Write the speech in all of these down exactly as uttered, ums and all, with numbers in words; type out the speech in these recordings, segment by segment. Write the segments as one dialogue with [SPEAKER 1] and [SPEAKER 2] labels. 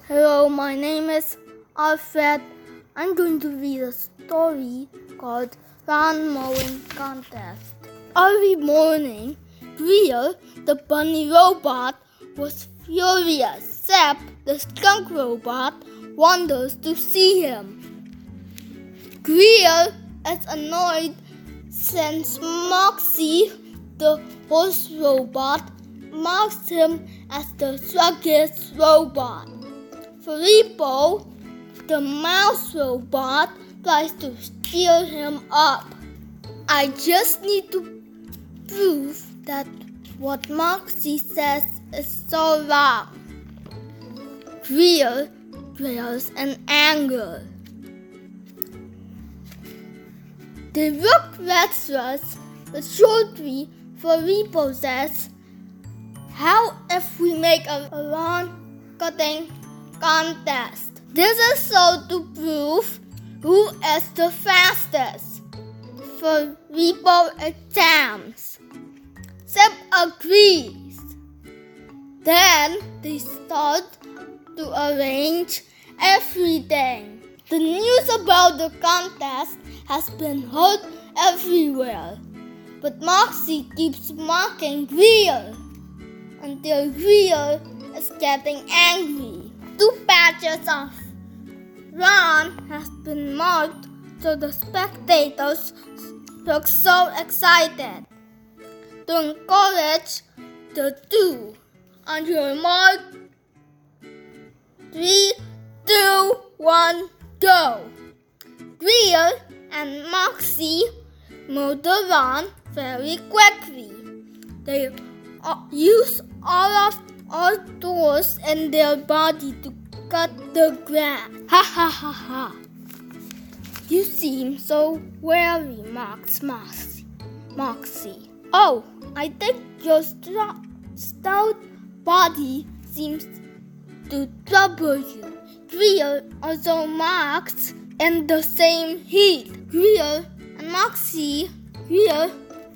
[SPEAKER 1] Hello, my name is Alfred. I'm going to read a story called Lawn Mowing Contest. Every morning, Greer, the bunny robot, was furious. Zeb, the skunk robot, wonders to see him. Greer is annoyed since Moxie, the horse robot, marks him as the sluggish robot. Filippo, the mouse robot, tries to steer him up. I just need to prove that what Moxie says is so wrong. Greer growls in anger. They look restless, but shortly Filippo says, "How if we make a lawn cutting contest? This is so to prove who is the fastest." Filippo attempts. Zeb agrees. Then they start to arrange everything. The news about the contest has been heard everywhere, but Moxie keeps mocking Greer until Greer is getting angry. Two patches of lawn has been marked, so the spectators look so excited. To encourage the two, on your mark, three, two, one, go! Greer and Moxie mow the lawn very quickly. They use all of all tools in their body to cut the grass. Ha ha ha ha! You seem so weary, Mox Moxie. Moxie. Oh, I think your stout, stout body seems to trouble you. Greer also marks in the same heat. Greer and Moxie, Greer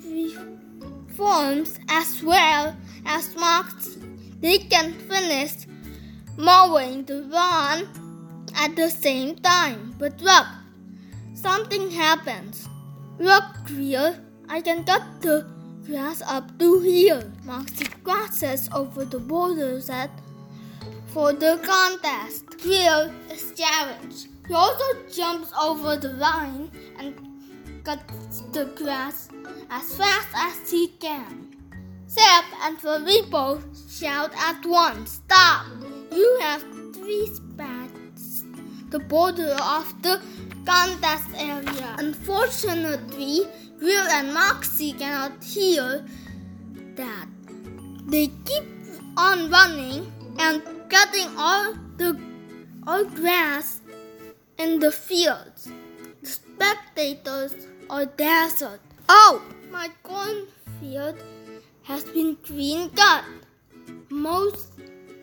[SPEAKER 1] reforms as well as Moxie. They can finish mowing the lawn at the same time. But look, something happens. Look, Greer, I can cut the grass up to here. Moxie crosses over the border set for the contest. Greer is challenged. He also jumps over the line and cuts the grass as fast as he can. Zeb and Filippo shout at once, "Stop! You have three spots the border of the contest area." Unfortunately, Greer and Moxie cannot hear that. They keep on running and cutting all the all grass in the fields. The spectators are dazzled. "Oh, my cornfield has been green cut." Most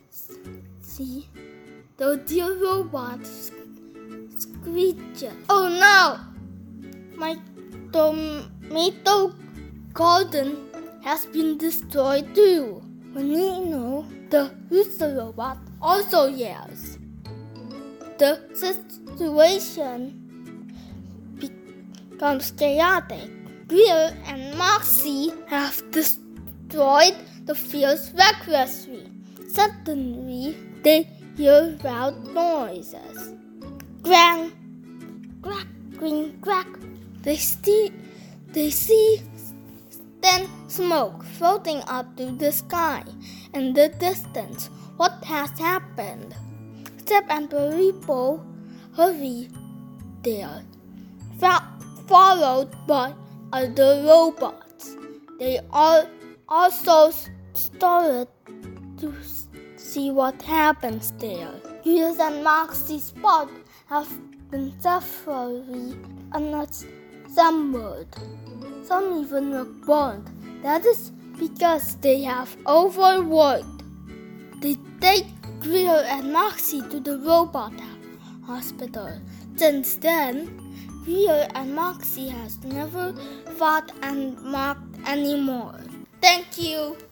[SPEAKER 1] see the dear robot screeches. "Oh no! My tomato garden has been destroyed too." Nino, the rooster robot, also yells. The situation becomes chaotic. Greer and Moxie have destroyed the fields recklessly. Suddenly, they hear loud noises. Clang, crack, cring, crack. They see, they see thin smoke floating up to the sky. In the distance, what has happened? Zeb and Filippo hurry there, followed by other robots. They all also started to see what happens there. Greer and Moxie's spot have been severely unassembled. Some even look burned. That is because they have overworked. They take Greer and Moxie to the robot hospital. Since then, Greer and Moxie has never fought and mocked anymore. Thank you.